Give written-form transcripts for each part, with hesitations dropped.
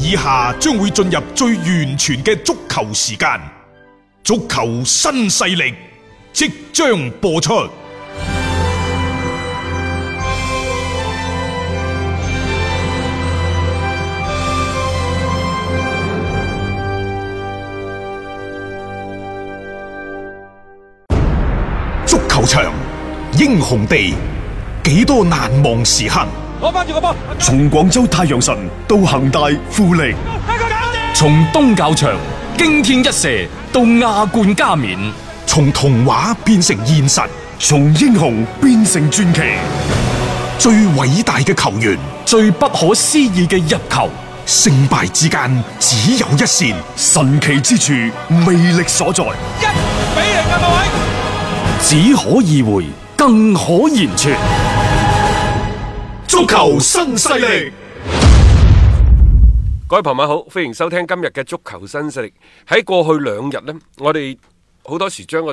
以下將會進入最完全嘅足球時間，足球新勢力即將播出。足球場，英雄地，幾多難忘時刻。 攞翻住個波， 從廣州太陽神到恒大富力， 從東較場驚天一射到亞冠加冕， 從童話變成現實， 從英雄變成傳奇。 最偉大嘅球員， 最不可思議嘅入球， 勝敗之間只有一線， 神奇之處魅力所在。 1-0啊，各位！ 只可意會，更可言傳。 足球新勢力， 各位朋友好，歡迎收聽今日嘅足球新勢力。喺過去2日呢，我哋好多時將個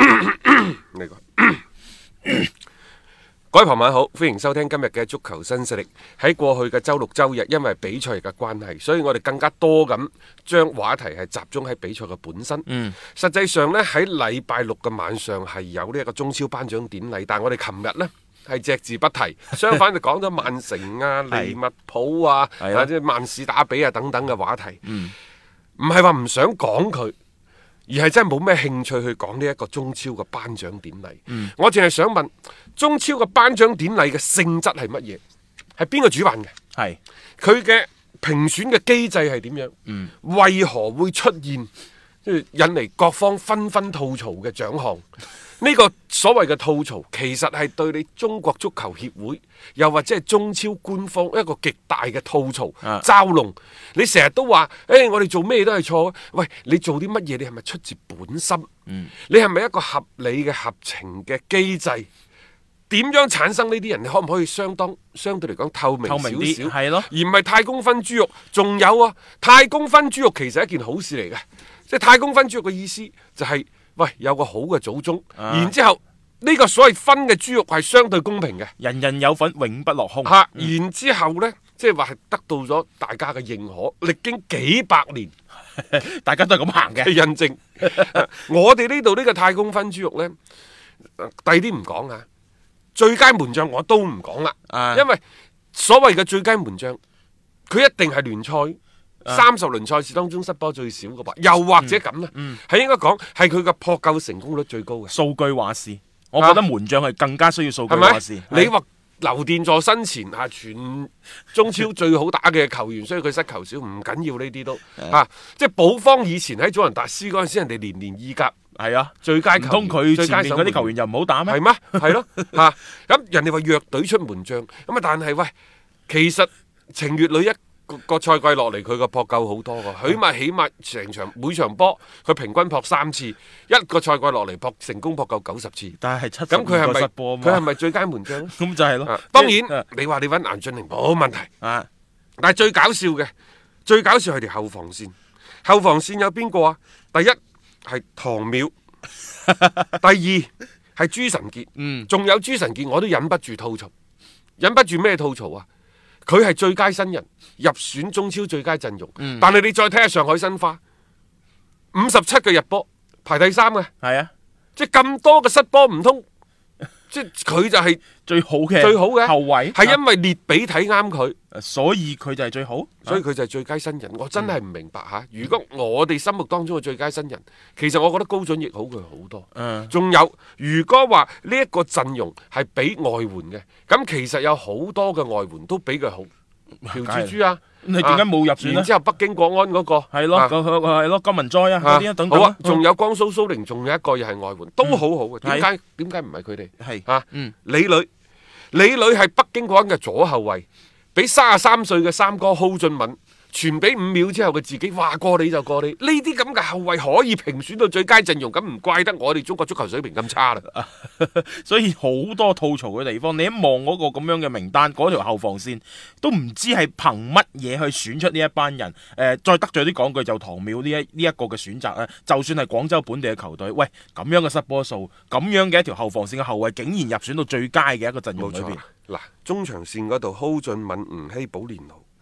各位朋友好，歡迎收聽今日嘅足球新勢力。喺過去嘅周六周日，因為比賽嘅關係，所以我哋更加多咁將話題係集中喺比賽嘅本身。實際上呢，喺禮拜六嘅晚上係有呢一個中超頒獎典禮，但係我哋琴日呢係隻字不提，相反就講咗曼城啊、利物浦啊、即係曼市打比啊等等嘅話題。唔係話唔想講佢，而係真係冇咩興趣去講呢一個中超嘅頒獎典禮。我淨係想問，中超嘅頒獎典禮嘅性質係乜嘢？係邊個主辦嘅？係佢嘅評選嘅機制係點樣？為何會出現引嚟各方紛紛吐槽嘅獎項？呢個所謂嘅吐槽，其實係對你中國足球協會，又或者係中超官方一個極大嘅吐槽、嘲弄。你成日都話，我哋做咩都係錯。喂，你做啲乜嘢？你係咪出自本心？你係咪一個合理嘅合情嘅機制？點樣產生呢啲人？你可唔可以相對嚟講透明少少？係咯，而唔係太公分豬肉。仲有啊，太公分豬肉其實係一件好事嚟嘅。即係太公分豬肉嘅意思就係、喂，有個好嘅祖宗，然之後呢個所謂分嘅豬肉係相對公平嘅， 人人有份，永不落空。 然之後呢，即係話係得到咗大家嘅認可，歷經幾百年， 大家都係咁行嘅。 印證。我哋呢度呢個太公分豬肉呢，第啲唔講啊，最佳門將我都唔講啦，因為所謂嘅最佳門將，佢一定係聯賽30輪賽事當中失波最少嘅吧，又或者咁呢，係應該講係佢嘅撲救成功率最高嘅。 數據話事，我覺得門將係更加需要數據話事。 你話劉殿座身前全中超最好打嘅球員，所以佢失球少唔緊要呢啲都即係保方以前喺祖雲達斯嗰陣時，人哋年意甲最佳球員， 唔通佢前面嗰啲球員又唔好打咩？ 係咩？係咯咁人哋話弱隊出門將咁但係喂，其實程月磊個賽季落嚟，佢個撲救好多噶，起碼成場每場波佢平均撲3次，一個賽季落嚟成功撲救90次。 但係70 咁佢失波， 佢係咪最佳門將咧？ 咁就係咯。 當然你話你揾顏駿凌冇問題但係最搞笑係條後防線。後防線有邊個啊？第一係唐淼，第二係朱晨傑，仲有朱晨傑我都忍不住吐槽，忍不住咩吐槽啊？佢係最佳新人入選中超最佳陣容，但係你再睇下上海申花57個入波排第3嘅， 係啊， 即係咁多嘅失波唔通，即係佢就係最好嘅後衛， 係因為列比睇啱佢， 所以佢就係最好， 所以佢就係最佳新人。我真係唔明白如果我哋心目當中嘅最佳新人，其實我覺得高準翼好佢好多。仲有如果話呢一個陣容係俾外援嘅，咁其實有好多嘅外援都比佢好。朴志洙你點解冇入選呢？ 然之後北京國安嗰個係咯，係咯，金文哉嗰啲等等。 好仲有江蘇蘇寧，仲有一個又係外援，都好好嘅。點解唔係佢哋？係李磊係北京國安嘅左後衛，俾33歲嘅三哥蒿俊閔傳俾5秒之後嘅自己，話過你就過你。呢啲咁嘅後衛可以評選到最佳陣容，咁唔怪得我哋中國足球水平咁差啦。 所以好多吐槽嘅地方，你一望嗰個咁樣嘅名單，嗰條後防線都唔知係憑乜嘢去選出呢一班人。再得罪啲講句，就唐淼呢一個嘅選擇咧，就算係廣州本地嘅球隊，喂，咁樣嘅失波數，咁樣嘅一條後防線嘅後衛，竟然入選到最佳嘅一個陣容裏邊。 嗱，中場線嗰度蒿俊閔、吳曦、保連奴。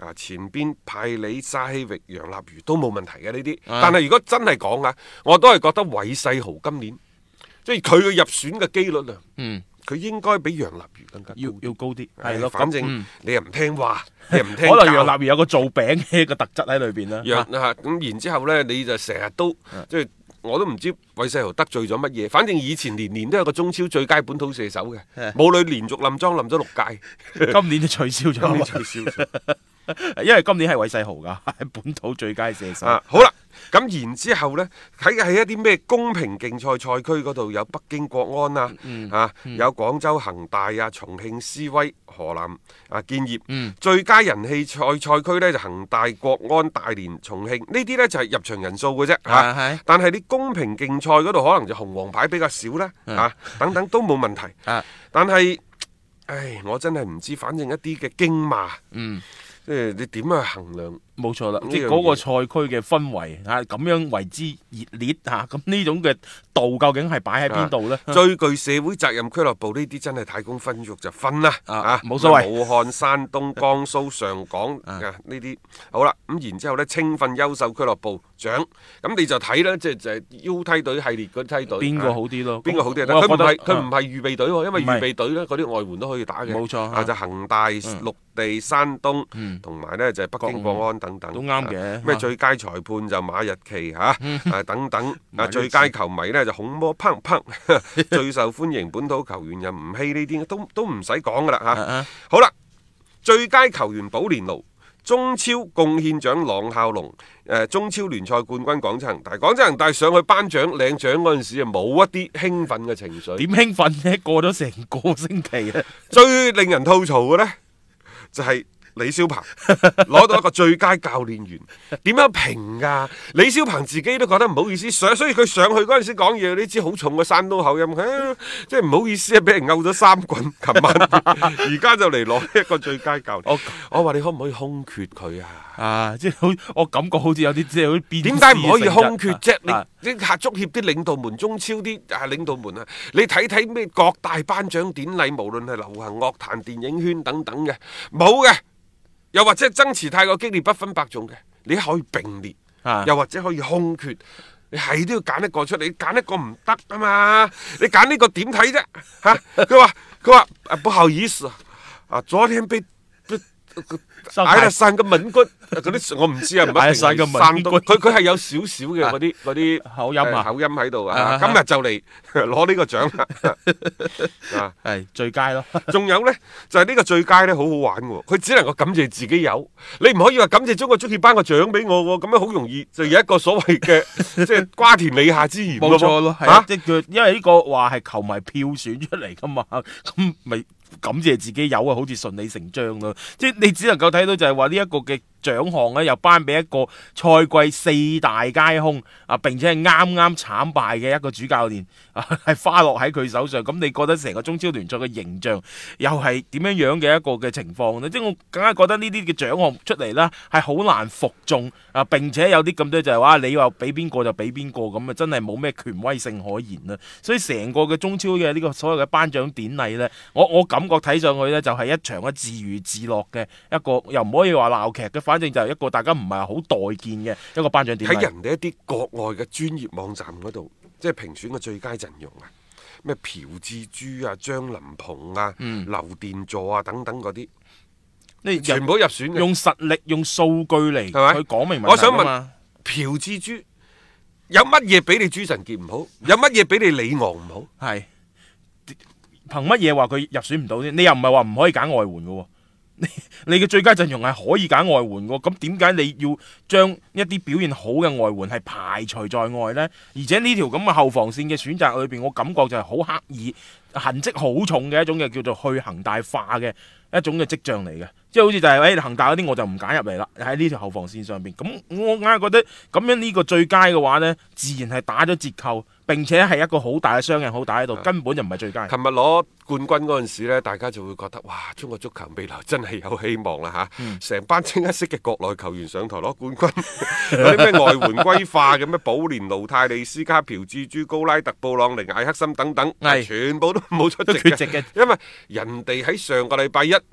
前邊派里、沙希域、楊立瑜都冇問題嘅呢啲。但係如果真係講啊，我都係覺得韋世豪今年即係佢嘅入選嘅機率啊，佢應該比楊立瑜更加要高啲，係咯。 反正你又唔聽話，你又唔聽可能楊立瑜有個做餅嘅一個特質喺裏邊啦。 咁然之後呢，你就成日都即係。我都唔知韋世豪得罪咗乜嘢，反正以前年年都有個中超最佳本土射手嘅，武磊連續冧莊冧咗6屆， 今年都取消咗，因為今年係韋世豪噶，係本土最佳射手。 好啦，咁然之後呢，喺一啲咩公平競賽賽區嗰度有北京國安有廣州恒大啊、重慶斯威、河南建業，最佳人氣賽區呢就恒大、國安、大連、重慶，呢啲呢就係入場人數嘅啫，但係你公平競賽嗰度可能就紅黃牌比較少啦，等等都冇問題，但係，我真係唔知，反正一啲嘅驚罵，即係你點樣去衡量？ 冇錯啦，即係嗰個賽區嘅氛圍咁樣為之熱烈咁呢種嘅度究竟係擺喺邊度呢？ 最具社會責任俱樂部呢啲真係太公分肉就分啦， 冇所謂。 武漢、山東、江蘇、上港呢啲好啦，咁然之後呢，青訓優秀俱樂部獎，咁你就睇啦，即係 U 梯隊系列嗰梯隊邊個好啲咯？ 邊個好啲？佢唔係預備隊喎，因為預備隊呢嗰啲外援都可以打嘅。 冇錯， 就恒大、綠地、山東同埋呢就係北京國安等等都啱嘅。 咩最佳裁判就馬日奇等等，最佳球迷呢就孔魔砰砰，最受歡迎本土球員又吳曦，呢啲都唔使講噶啦好啦，最佳球員保連奴，中超貢獻獎郎孝龍，中超聯賽冠軍廣州恒大。廣州恒大上去頒獎領獎嗰陣時啊，冇一啲興奮嘅情緒。 點興奮呢？過咗成個星期啊！ 最令人吐槽嘅呢，就係李霄鵬攞到一個最佳教練員，點樣評㗎？李霄鵬自己都覺得唔好意思，所以佢上去嗰陣時講嘢，你知好重嘅山東口音，即係唔好意思啊，俾人毆咗3棍。琴晚而家就嚟攞一個最佳教練。我話你可唔可以空缺佢啊？ 即係我感覺好似有啲即係好變。 點解唔可以空缺啫？你下足協啲領導們、中超啲領導們你睇睇咩各大頒獎典禮，無論係流行樂壇、電影圈等等嘅，冇嘅。又或者爭持太過激烈不分伯仲嘅，你可以並列，又或者可以空缺，你係都要揀一個出嚟，你揀一個唔得啊嘛！你揀呢個點睇啫？佢話不好意思昨天被挨得散個吻骨嗰啲，我唔知啊，唔一定係山東，佢係有少少嘅嗰啲口音喺度今日就嚟攞呢個獎啦， 係最佳咯。 仲有呢，就係呢個最佳呢，好好玩嘅，佢只能夠感謝自己有，你唔可以話感謝中國足協頒個獎俾我喎，咁樣好容易就有一個所謂嘅即係瓜田李下之嫌。 冇錯咯，即係因為呢個話係球迷票選出嚟噶嘛，咁咪感謝自己有啊，好似順理成章咯。即係你只能夠睇到就係話呢一個嘅獎項咧，又頒俾一個賽季4大皆空並且係啱啱慘敗嘅一個主教練係花落喺佢手上。咁你覺得成個中超聯賽嘅形象又係點樣嘅一個嘅情況呢？即係我更加覺得呢啲嘅獎項出嚟啦，係好難服眾並且有啲咁多就係話你話俾邊個就俾邊個咁啊，真係冇咩權威性可言啦。所以成個嘅中超嘅呢個所謂嘅頒獎典禮呢，我感覺睇上去呢，就係一場嘅自娛自樂嘅一個，又唔可以話鬧劇嘅，反正就係一個大家唔係好待見嘅一個頒獎典禮。 喺人哋一啲國外嘅專業網站嗰度，即係評選嘅最佳陣容咩朴志洙張琳芃劉殿座等等嗰啲，你全部入選嘅， 用實力用數據嚟去講明問題。 我想問朴志洙有乜嘢比你朱晨傑唔好？有乜嘢比你李昂唔好？ 係憑乜嘢話佢入選唔到呢？你又唔係話唔可以揀外援嘅？你嘅最佳陣容係可以揀外援嘅，咁點解你要將一啲表現好嘅外援係排除在外呢？而且呢條咁嘅後防線嘅選擇裏邊，我感覺就係好刻意、痕跡好重嘅一種嘅叫做去恒大化嘅一種嘅跡象嚟嘅。即係好似就係恒大嗰啲我就唔揀入嚟啦，喺呢條後防線上邊。咁我硬係覺得咁樣呢個最佳嘅話呢，自然係打咗折扣，並且係一個好大嘅雙人好大喺度，根本就唔係最佳。 琴日攞冠軍嗰陣時呢，大家就會覺得哇，中國足球未來真係有希望啦嚇！成班清一色嘅國內球員上台攞冠軍，嗰啲咩外援歸化嘅咩保連奴、泰利斯卡、朴志洙、高拉特、布朗寧、艾克森等等，全部都冇出席嘅， 缺席嘅， 因為人哋喺上個禮拜一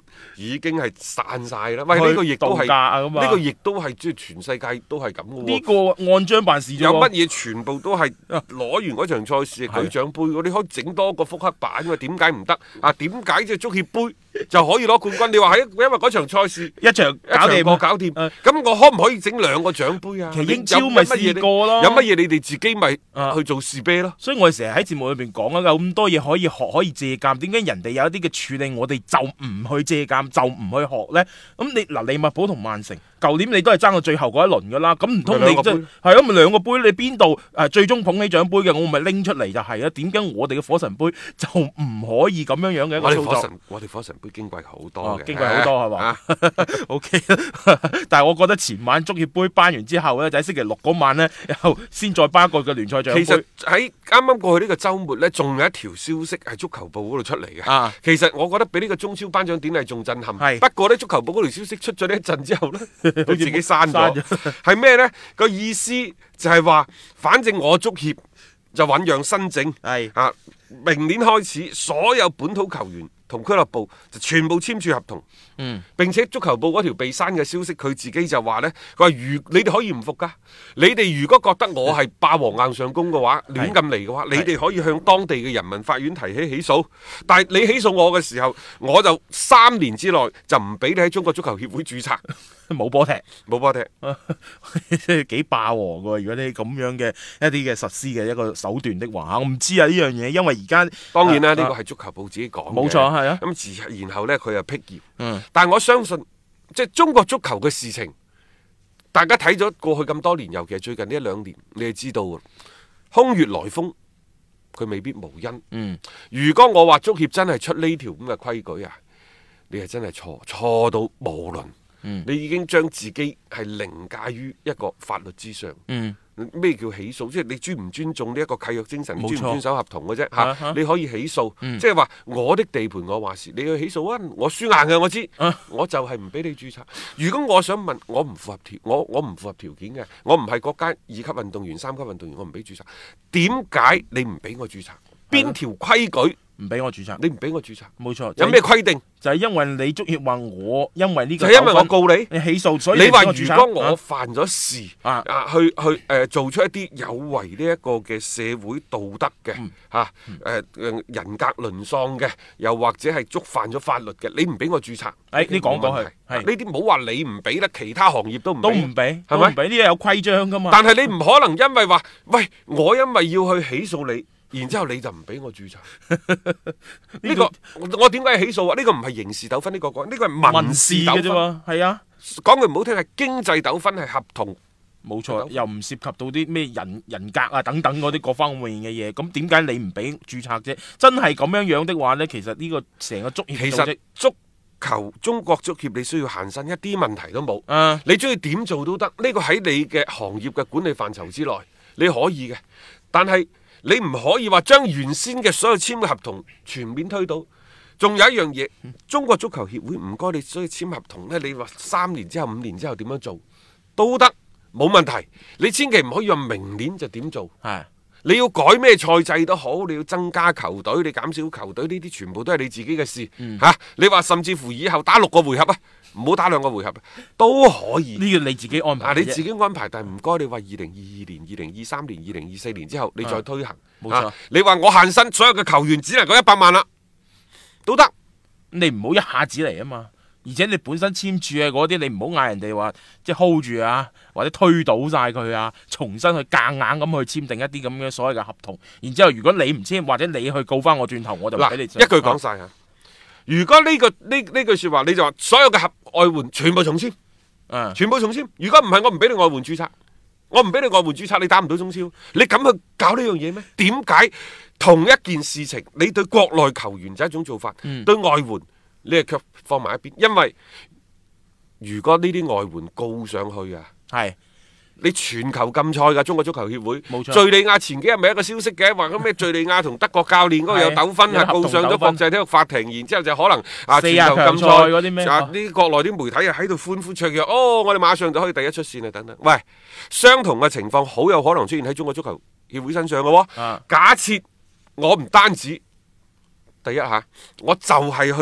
已經係散晒啦。喂，呢個亦都係度假啊咁啊呢個亦都係即係全世界都係咁嘅喎。 呢個按章辦事啫喎。 有乜嘢全部都係攞完嗰場賽事舉獎杯嘅，你可以整多個複刻版嘅，點解唔得啊？點解即係足協杯就可以攞冠軍？你話係因為嗰場賽事一場搞掂過搞掂，咁我可唔可以整兩個獎杯啊？ 其實英超咪試過咯， 有乜嘢你哋自己咪去做士啤咯？ 所以我哋成日喺節目裏邊講啊，有咁多嘢可以學可以借鑑，點解人哋有一啲嘅處理，我哋就唔去借鑑，就唔去學呢？咁你嗱，利物浦同曼城，舊年你都係爭到最後嗰一輪噶啦，咁唔通你即係啊？咪兩個杯，你邊度最終捧起獎杯嘅，我咪拎出嚟就係啦。點解我哋嘅火神杯就唔可以咁樣樣嘅一個操作？ 我哋火神杯矜貴好多嘅， 矜貴好多係嘛？OK， 但係我覺得前晚足協杯頒完之後呢，就喺星期六嗰晚呢，又先再頒一個嘅聯賽獎杯。 其實喺啱啱過去呢個週末呢，仲有一條消息係足球報嗰度出嚟嘅。其實我覺得比呢個中超頒獎典禮仲震撼。不過呢，足球報嗰條消息出咗呢一陣之後呢，佢自己刪咗。係咩呢？個意思就係話，反正我足協就醖釀新政。明年開始，所有本土球員同俱樂部就全部簽署合同。並且足球報嗰條被刪嘅消息，佢自己就話呢，佢話你哋可以唔服㗎，你哋如果覺得我係霸王硬上弓嘅話，亂咁嚟嘅話，你哋可以向當地嘅人民法院提起訴。但係你起訴我嘅時候，我就3年之內就唔俾你喺中國足球協會註冊。 冇波踢， 冇波踢， 幾霸王喎！如果你咁樣嘅一啲嘅實施嘅一個手段的話，我唔知啊呢樣嘢，因為而家當然啦，呢個係足球報自己講嘅， 冇錯係啊。 咁然後呢，佢又辟謠。但係我相信，即係中國足球嘅事情，大家睇咗過去咁多年，尤其係最近呢1-2年，你係知道嘅，空穴來風，佢未必無因。如果我話足協真係出呢條咁嘅規矩啊，你係真係錯到無倫。你已經將自己係凌駕於一個法律之上。咩叫起訴？即係你尊唔尊重呢一個契約精神，你遵唔遵守合同嘅啫嚇。你可以起訴，即係話我的地盤我話事，你去起訴啊！我輸硬嘅，我知，我就係唔俾你註冊。如果我想問，我唔符合我唔符合條件嘅，我唔係國家2級運動員、3級運動員，我唔俾註冊。點解你唔俾我註冊？邊條規矩唔俾我註冊？ 你唔俾我註冊？ 冇錯。 有咩規定？ 就係因為你足協話我因為呢個， 就係因為我告你起訴，所以你話如果我犯咗事去做出一啲有違呢一個嘅社會道德嘅人格淪喪嘅，又或者係觸犯咗法律嘅，你唔俾我註冊？ 你講過去呢啲唔好話你唔俾啦，其他行業都唔俾， 係咪？呢啲有規章噶嘛？ 但係你唔可能因為話喂，我因為要去起訴你。然之後你就唔俾我註冊，呢個我點解要起訴啊？呢個唔係刑事糾紛，呢個係民事糾紛。 係啊， 講句唔好聽係經濟糾紛，係合同。 冇錯，又唔涉及到啲咩人格啊等等嗰啲各方面嘅嘢。咁點解你唔俾註冊啫？真係咁樣的話呢，其實呢個成個足協其實足球中國足協你需要限薪，一啲問題都冇。你中意點做都得，呢個喺你嘅行業嘅管理範疇之內，你可以嘅。但係你唔可以話將原先嘅所有簽嘅合同全面推倒。仲有一樣嘢，中國足球協會唔該你所以簽合同呢，你話3年之後、5年之後點樣做都得，冇問題。你千祈唔可以話明年就點做。你要改咩賽制都好，你要增加球隊，你減少球隊，呢啲全部都係你自己嘅事。你話甚至乎以後打6個回合啊，唔好打2個回合都可以。 呢個你自己安排。 你自己安排，但係唔該你話2022年、2023年、2024年之後你再推行。 冇錯。 你話我限薪，所有嘅球員只能夠100萬啦，都得。 你唔好一下子嚟啊嘛。而且你本身簽署嘅嗰啲，你唔好嗌人哋話即係 hold 住啊，或者推倒晒佢啊，重新去夾硬咁去簽訂一啲咁嘅所謂嘅合同。然之後如果你唔簽，或者你去告翻我轉頭，我就唔俾你。一句講晒啊！如果呢句說話，你就話所有嘅外援全部重簽，全部重簽。如果唔係，我唔俾你外援註冊，我唔俾你外援註冊，你打唔到中超。你敢去搞呢樣嘢咩？點解同一件事情，你對國內球員就係一種做法，對外援你係卻放埋一邊？因為如果呢啲外援告上去啊，你全球禁賽㗎，中國足球協會。冇錯。敘利亞前幾日咪一個消息嘅，話咩敘利亞同德國教練嗰個有糾紛啊，告上咗國際體育法庭，然之後就可能全球禁賽嗰啲咩？呢國內啲媒體啊喺度歡呼雀躍，我哋馬上就可以第一出線啊等等。喂，相同嘅情況好有可能出現喺中國足球協會身上嘅喎。假設我唔單止第一下，我就係去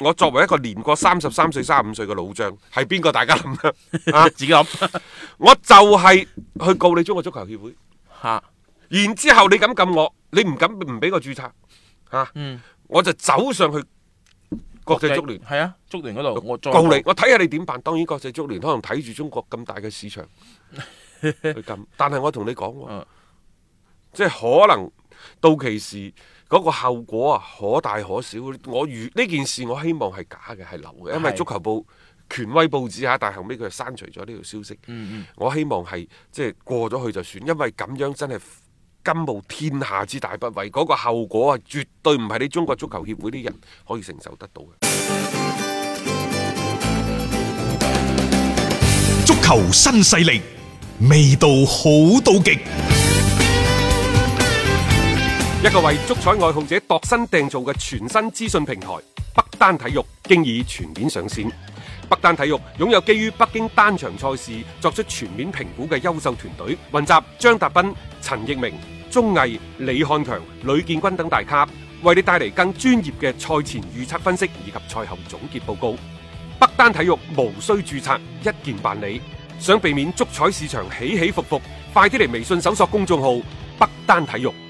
我作為一個年過33歲、35歲嘅老將，係邊個？大家諗啊， 自己諗我就係去告你中國足球協會， 嚇， 然之後你敢撳我，你唔敢唔俾我註冊嚇，我就走上去國際足聯， 係啊，足聯嗰度我再告你，我睇下你點辦。當然國際足聯可能睇住中國咁大嘅市場去撳，但係我同你講喎，即係可能到期時嗰個後果啊，可大可小。我呢件事我希望係假嘅，係流嘅，因為足球報權威報紙嚇，但係後尾佢就刪除咗呢條消息。我希望係即係過咗去就算，因為咁樣真係甘冒天下之大不韙，嗰個後果啊，絕對唔係你中國足球協會啲人可以承受得到嘅。 足球新勢力，味道好到極。 一個為足彩愛好者度身訂造嘅全新資訊平台北單體育，經已全面上線。北單體育擁有基於北京單場賽事作出全面評估嘅優秀團隊，雲集張達斌、陳奕明、鐘毅、李漢強、呂建軍等大咖，為你帶嚟更專業嘅賽前預測分析以及賽後總結報告。北單體育無需註冊，一鍵辦理。想避免足彩市場起起伏伏，快啲嚟微信搜索公眾號北單體育。